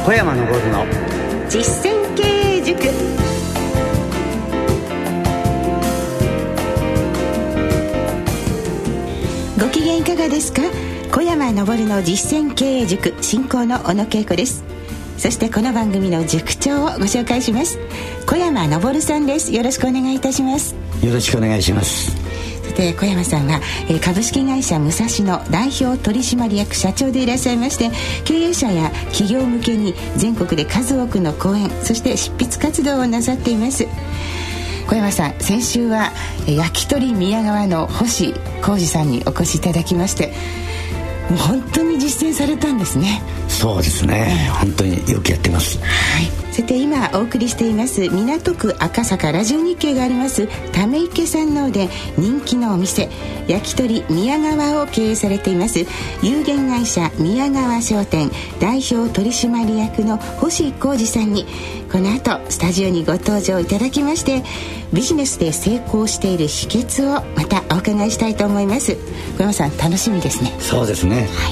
小山昇の実践経営塾。ご機嫌いかがですか？小山昇の実践経営塾進行の小野恵子です。そしてこの番組の塾長をご紹介します。小山昇さんです。よろしくお願いいたします。 よろしくお願いします。 さて小山さんは株式会社武蔵野代表取締役社長でいらっしゃいまして、経営者や企業向けに全国で数多くの講演、そして執筆活動をなさっています。小山さん、先週は焼き鳥宮川の星浩二さんにお越しいただきまして、もう本当に実践されたんですね。 そうですね、本当によくやってます。 はい。さて今お送りしています港区赤坂ラジオ日経がありますため池山王で人気のお店焼き鳥宮川を経営されています有限会社宮川商店代表取締役の星浩二さんにこの後スタジオにご登場いただきまして、ビジネスで成功している秘訣をまたお伺いしたいと思います。小山さん、楽しみですね。 そうですね、 はい。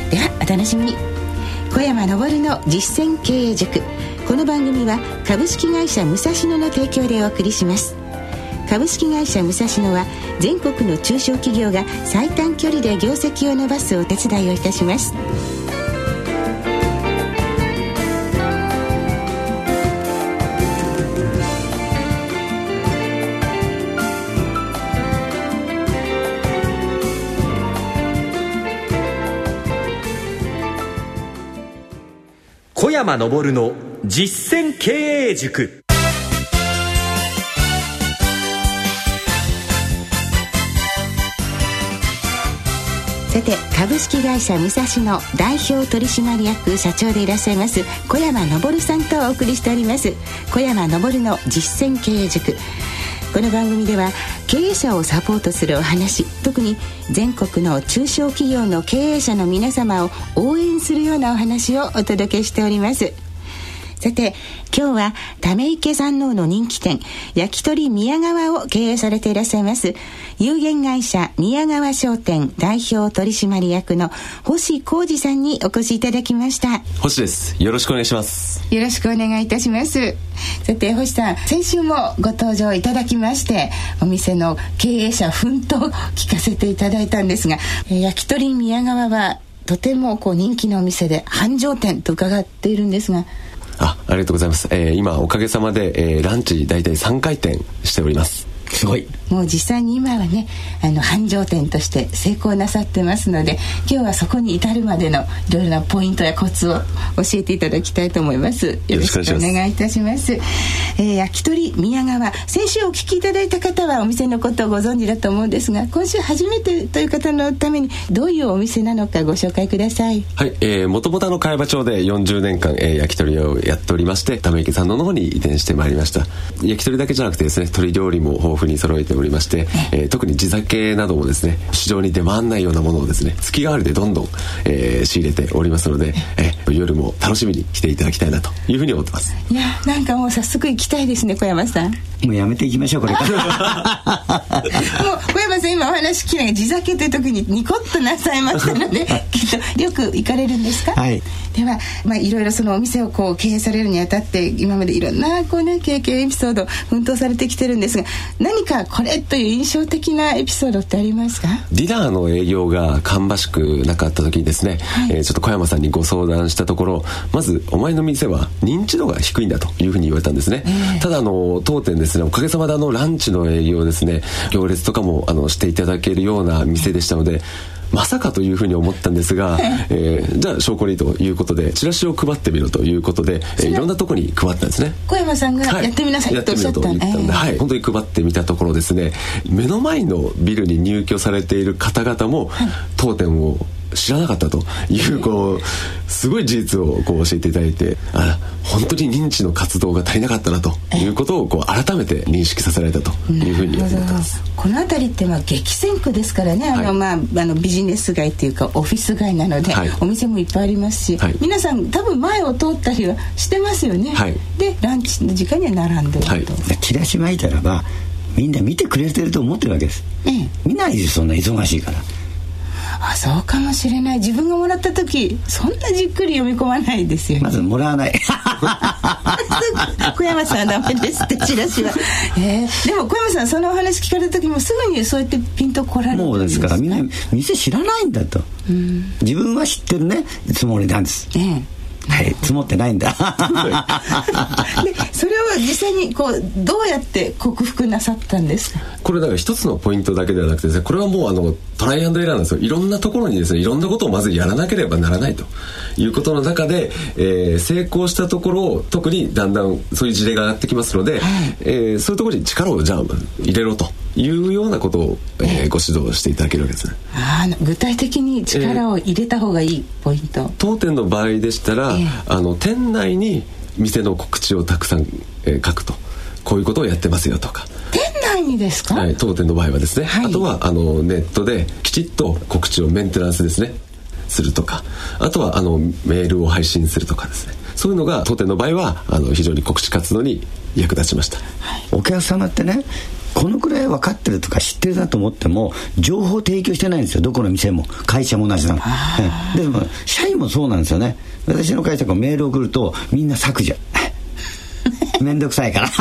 ではお楽しみに。小山昇の実践経営塾。この番組は株式会社武蔵野の提供でお送りします。株式会社武蔵野は全国の中小企業が最短距離で業績を伸ばすお手伝いをいたします。 小山昇の実践経営塾。 さて株式会社武蔵野代表取締役社長でいらっしゃいます小山昇さんとお送りしております小山昇の実践経営塾。この番組では経営者をサポートするお話、特に全国の中小企業の経営者の皆様を応援するようなお話をお届けしております。さて今日はため池山王の人気店焼き鳥宮川を経営されていらっしゃいます有限会社宮川商店代表取締役の星浩二さんにお越しいただきました。 星です。よろしくお願いします。 よろしくお願いいたします。さて星さん、先週もご登場いただきましてお店の経営者奮闘を聞かせていただいたんですが、焼き鳥宮川はとても人気のお店で繁盛店と伺っているんですが。 ありがとうございます。今おかげさまで、ランチ大体3回転しております。 すごい。 もう実際に今はね繁盛店として成功なさってますので、今日はそこに至るまでのいろいろなポイントやコツを教えていただきたいと思います。よろしくお願いいたします。焼き鳥宮川、先週お聞きいただいた方はお店のことをご存知だと思うんですが、今週初めてという方のためにどういうお店なのかご紹介ください。 はい。もともと茅場町で40年間、焼き鳥をやっておりまして、ため池山王の方に移転してまいりました。焼き鳥だけじゃなくてですね、鶏料理も豊富に揃えておりまして、特に地酒などもですね、市場に出回らないようなものをですね、月替わりでどんどん、仕入れておりますので、夜も楽しみに来ていただきたいなというふうに思ってます。 いや、なんかもう早速行きたいですね。小山さん、 もうやめていきましょうこれからもう小山さん、今お話聞きながら地酒という時にニコッとなさいましたのできっとよく行かれるんですか？ はい。 では、いろいろそのお店を経営されるにあたって今までいろんな経験エピソード奮闘されてきてるんですが、何かこれという印象的なエピソードってありますか？ ディナーの営業が芳しくなかった時にですね、ちょっと小山さんにご相談したところ、まずお前の店は認知度が低いんだというふうに言われたんですね。ただ当店ですね、おかげさまでランチの営業ですね、行列とかもしていただけるような店でしたので、まさかというふうに思ったんですが、じゃあ証拠にということでチラシを配ってみろということで、いろんなところに配ったんですね。 小山さんがやってみなさいとおっしゃった、 やってみようと言ったので、本当に配ってみたところですね、目の前のビルに入居されている方々も、当店を知らなかったというすごい事実を教えていただいて、本当に認知の活動が足りなかったなということを改めて認識させられたというふうに思ってます。 この辺りって激戦区ですからね、ビジネス街っていうかオフィス街なので、お店もいっぱいありますし、皆さん多分前を通ったりはしてますよね。でランチの時間には並んでると、 チラシ巻いたらばみんな見てくれてると思ってるわけです。見ないです、そんな忙しいから。 そうかもしれない。自分がもらった時そんなじっくり読み込まないですよね。 まずもらわない小山さんはダメですってチラシは、でも小山さんそのお話聞かれた時もすぐにそうやってピンとこられるんです。 もうですからみんな店知らないんだと、自分は知ってるねつもりなんです、はい、積もってないんだでそれを実際にこうどうやって克服なさったんですか？ これだから一つのポイントだけではなくてですね、これはもうトライアンドエラーなんですよ。いろんなところにですねいろんなことをまずやらなければならないということの中で、成功したところを特にだんだんそういう事例が上がってきますので、そういうところに力をじゃあ入れろというようなことを、ご指導していただけるわけですね。 具体的に力を入れた方がいいポイント、 当店の場合でしたら、店内に店の告知をたくさん、書くと、こういうことをやってますよとか。 店内にですか？ はい、当店の場合はですね、あとはネットできちっと告知をメンテナンスですねするとか、あとはメールを配信するとかですね、そういうのが当店の場合は非常に告知活動に役立ちました。 お客様ってねこのくらい分かってるとか知ってるなと思っても情報提供してないんですよ。どこの店も会社も同じなの。でも社員もそうなんですよね。私の会社がメールを送るとみんな削除めんどくさいから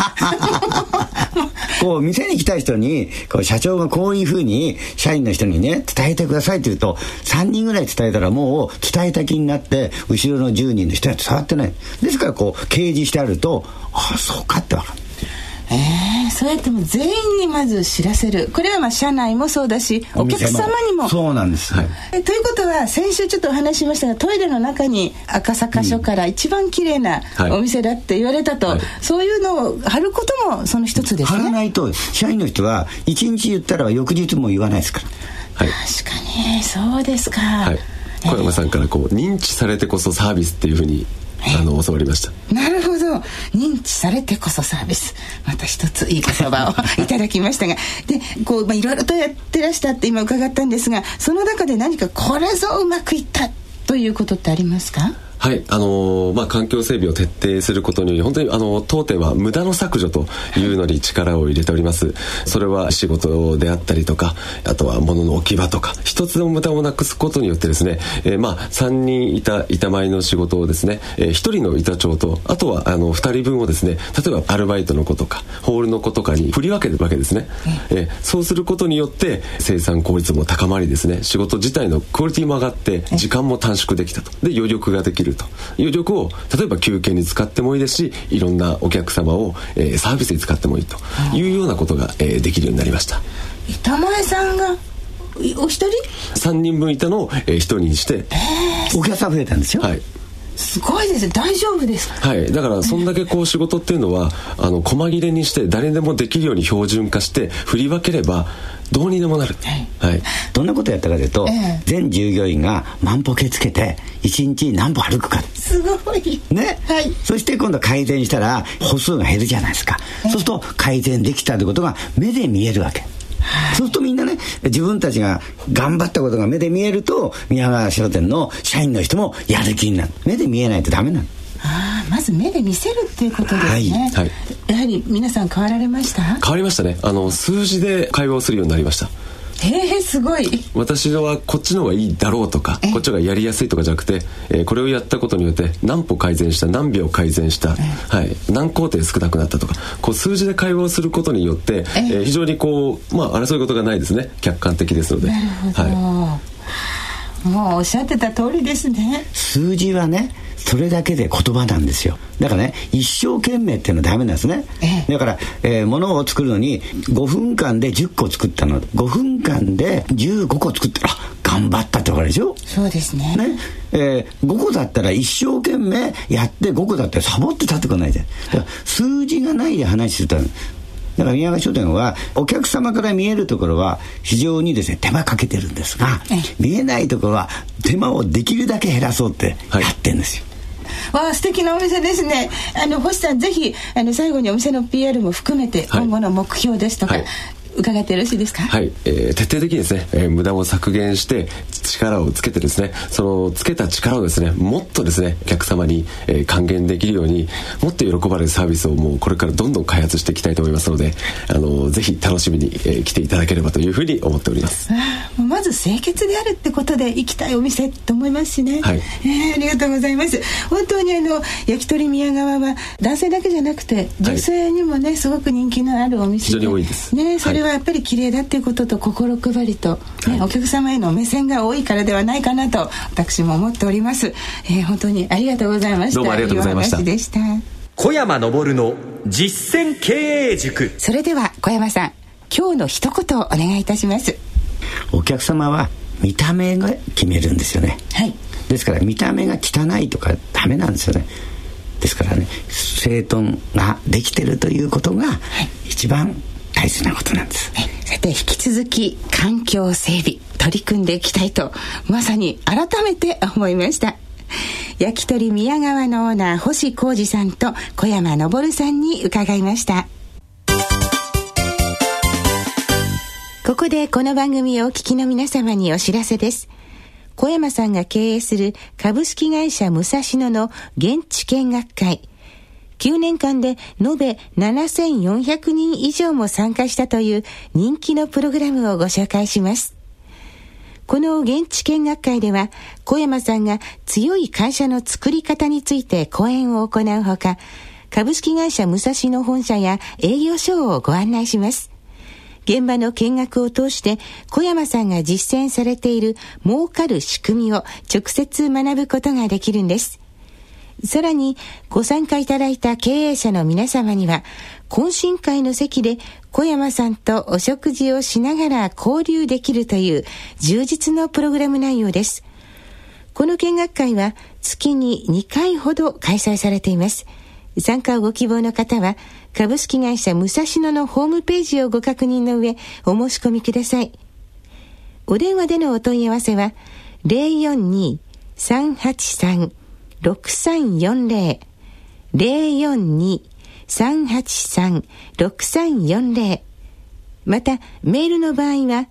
こう店に来た人にこう社長がこういうふうに社員の人にね伝えてくださいって言うと3人ぐらい伝えたらもう伝えた気になって後ろの10人の人には伝わってない。ですからこう掲示してあるとそうかって分かる。 そうやっても全員にまず知らせる。これは社内もそうだしお客様にもそうなんです、はい。 ということは先週ちょっとお話ししましたがトイレの中に赤坂署から一番綺麗なお店だって言われたと、そういうのを貼ることもその一つですね。 貼らないと社員の人は1日言ったら翌日も言わないですから、 確かにそうですか、 小山さんから認知されてこそサービスっていうふうに教わりました。 なるほど、認知されてこそサービス、また一ついい言葉をいただきましたがでいろいろとやってらしたって今伺ったんですが、その中で何かこれぞうまくいったということってありますか？ はい、環境整備を徹底することにより本当に当店は無駄の削除というのに力を入れております。それは仕事であったりとか、あとは物の置き場とか、一つの無駄をなくすことによってですね、3人板前の仕事をですね、1人の板長とあとは2人分をですね、例えばアルバイトの子とかホールの子とかに振り分けるわけですね。そうすることによって生産効率も高まりですね、仕事自体のクオリティも上がって時間も短縮できたと。で余力ができると。余力を例えば休憩に使ってもいいですし、いろんなお客様を、サービスに使ってもいいというようなことが、できるようになりました。 板前さんがお一人 3人分いたのを、1人にしてお客さん増えたんですよ。 すごいですね。大丈夫ですか？ だからそんだけ仕事っていうのは細切れにして誰でもできるように標準化して振り分ければどうにでもなる。 どんなことやったかというと、全従業員が万歩計つけて1日何歩歩くか。 すごいね、そして今度改善したら歩数が減るじゃないですか。そうすると改善できたということが目で見えるわけ。そうするとみんなね、自分たちが頑張ったことが目で見えると宮川商店の社員の人もやる気になる。目で見えないとダメなの。 まず目で見せるっていうことですね。やはり皆さん変わられました？ 変わりましたね。数字で会話をするようになりました。 すごい。 私はこっちの方がいいだろうとかこっちがやりやすいとかじゃなくて、これをやったことによって何歩改善した、何秒改善した、何工程少なくなったとか、数字で会話をすることによって、非常に争い事がないですね。客観的ですので。 なるほど、もうおっしゃってた通りですね。 数字はねそれだけで言葉なんですよ。だからね一生懸命っていうのはダメなんですね。だから、物を作るのに5分間で10個作ったの5分間で15個作ったら頑張ったってわかるでしょ。 そうですね。 5個だったら一生懸命やって5個だったらサボって立ってこないじゃん。だから数字がないで話するとだから宮川商店はお客様から見えるところは非常にですね手間かけてるんですが、見えないところは手間をできるだけ減らそうってやってるんですよ。 素敵なお店ですね。星さんぜひ最後にお店の PR も含めて今後の目標ですとか、 伺ってよろしいですか？ はい、徹底的にですね、無駄を削減して力をつけてですね、そのつけた力をですね、もっとですねお客様に、還元できるように、もっと喜ばれるサービスをもうこれからどんどん開発していきたいと思いますので、ぜひ楽しみに、来ていただければというふうに思っております。 まず清潔であるってことで行きたいお店と思いますしね、はい、ありがとうございます。本当に焼き鳥宮川は男性だけじゃなくて女性にもね、すごく人気のあるお店で、 非常に多いです、 ね、それはやっぱり綺麗だっていうことと心配りと、ね、お客様への目線が多いからではないかなと私も思っております。本当にありがとうございました。 どうもありがとうございました。 いいお話でした。 小山昇の実践経営塾。 それでは小山さん、今日の一言をお願いいたします。 お客様は見た目が決めるんですよね、はい、ですから見た目が汚いとかダメなんですよね。ですからね、整頓ができてるということが一番大切なことなんです、はい、 さて引き続き環境整備取り組んでいきたいとまさに改めて思いました。焼き鳥宮川のオーナー星浩二さんと小山昇さんに伺いました。ここでこの番組をお聞きの皆様にお知らせです。小山さんが経営する株式会社武蔵野の現地見学会、9年間で延べ7400人以上も参加したという人気のプログラムをご紹介します。この現地見学会では小山さんが強い会社の作り方について講演を行うほか、株式会社武蔵野本社や営業所をご案内します。現場の見学を通して小山さんが実践されている儲かる仕組みを直接学ぶことができるんです。さらにご参加いただいた経営者の皆様には懇親会の席で小山さんとお食事をしながら交流できるという充実のプログラム内容です。この見学会は月に2回ほど開催されています。参加をご希望の方は株式会社武蔵野のホームページをご確認の上お申し込みください。お電話でのお問い合わせは 042-383-6340 042-383-6340 またメールの場合は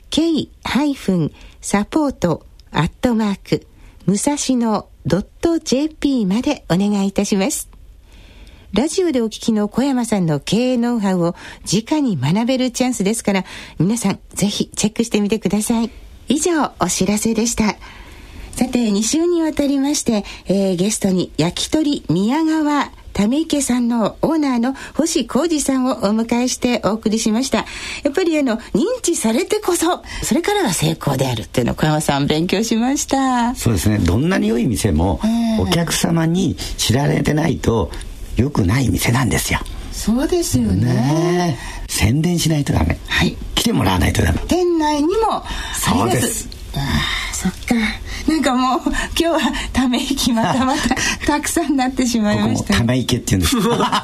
k-support@ 武蔵野 .jp までお願いいたします。ラジオでお聞きの小山さんの経営ノウハウを直に学べるチャンスですから、皆さんぜひチェックしてみてください。以上お知らせでした。さて2週にわたりまして、ゲストに焼き鳥宮川ため池さんのオーナーの星浩二さんをお迎えしてお送りしました。やっぱり認知されてこそそれからが成功であるっていうのを小山さん勉強しました。 そうですね、どんなに良い店もお客様に知られてないと良くない店なんですよ。 そうですよ ね。 宣伝しないとダメ、はい、来てもらわないとダメ。 店内にもそうです。 そっか、なんかもう今日はため息またたくさんなってしまいました。 ここもため池っていうんですもう本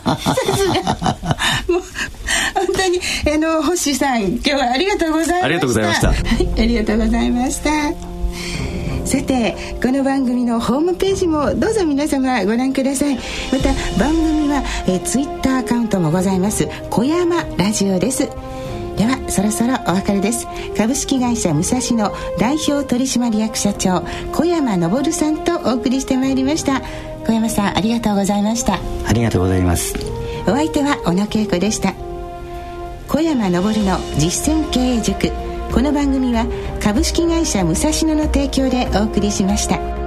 当に星さん今日はありがとうございました。 ありがとうございました、はい、 ありがとうございました。さてこの番組のホームページもどうぞ皆様ご覧ください。また番組はツイッターアカウントもございます。小山ラジオです。ではそろそろお別れです。株式会社武蔵野代表取締役社長小山昇さんとお送りしてまいりました。小山さんありがとうございました。 ありがとうございます。 お相手は小野恵子でした。小山昇の実践経営塾、この番組は株式会社武蔵野の提供でお送りしました。